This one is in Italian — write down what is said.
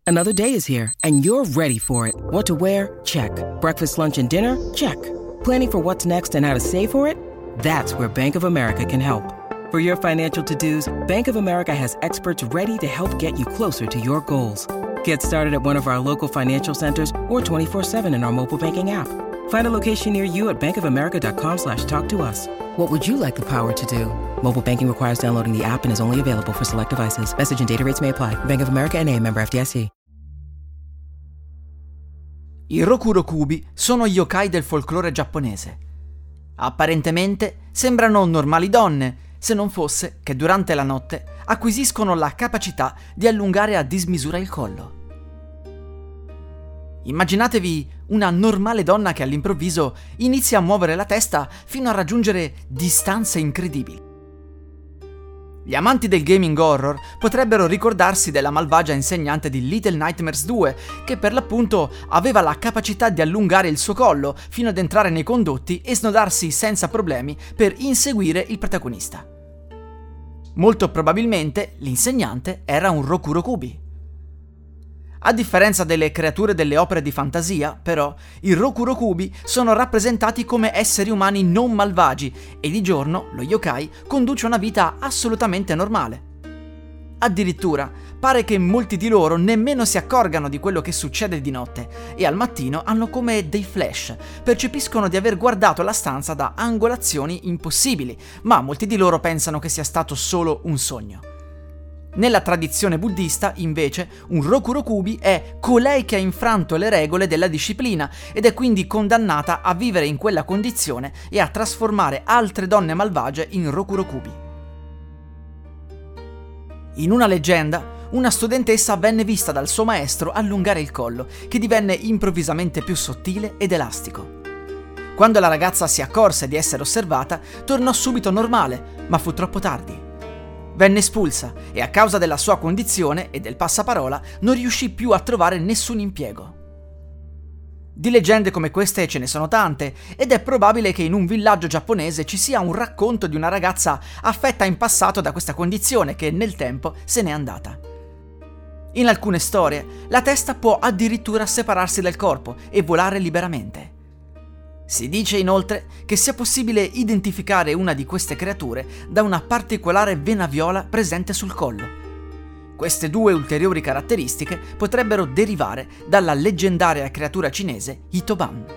Another day is here, and you're ready for it. What to wear? Check. Breakfast, lunch, and dinner? Check. Planning for what's next and how to save for it? That's where Bank of America can help. For your financial to-dos, Bank of America has experts ready to help get you closer to your goals. Get started at one of our local financial centers or 24/7 in our mobile banking app. Find a location near you at bankofamerica.com/talktous. What would you like the power to do? Mobile banking requires downloading the app and is only available for select devices. Message and data rates may apply. Bank of America N.A., member FDIC. I Rokurokubi sono yokai del folklore giapponese. Apparentemente sembrano normali donne, se non fosse che durante la notte acquisiscono la capacità di allungare a dismisura il collo. Immaginatevi una normale donna che all'improvviso inizia a muovere la testa fino a raggiungere distanze incredibili. Gli amanti del gaming horror potrebbero ricordarsi della malvagia insegnante di Little Nightmares 2, che per l'appunto aveva la capacità di allungare il suo collo fino ad entrare nei condotti e snodarsi senza problemi per inseguire il protagonista. Molto probabilmente l'insegnante era un Rokurokubi. A differenza delle creature delle opere di fantasia, però, i Rokurokubi sono rappresentati come esseri umani non malvagi e di giorno lo yokai conduce una vita assolutamente normale. Addirittura, pare che molti di loro nemmeno si accorgano di quello che succede di notte e al mattino hanno come dei flash, percepiscono di aver guardato la stanza da angolazioni impossibili, ma molti di loro pensano che sia stato solo un sogno. Nella tradizione buddista, invece, un Rokurokubi è colei che ha infranto le regole della disciplina ed è quindi condannata a vivere in quella condizione e a trasformare altre donne malvagie in Rokurokubi. In una leggenda, una studentessa venne vista dal suo maestro allungare il collo, che divenne improvvisamente più sottile ed elastico. Quando la ragazza si accorse di essere osservata, tornò subito normale, ma fu troppo tardi. Venne espulsa e a causa della sua condizione e del passaparola non riuscì più a trovare nessun impiego. Di leggende come queste ce ne sono tante ed è probabile che in un villaggio giapponese ci sia un racconto di una ragazza affetta in passato da questa condizione che nel tempo se n'è andata. In alcune storie la testa può addirittura separarsi dal corpo e volare liberamente. Si dice inoltre che sia possibile identificare una di queste creature da una particolare vena viola presente sul collo. Queste due ulteriori caratteristiche potrebbero derivare dalla leggendaria creatura cinese Hitoban.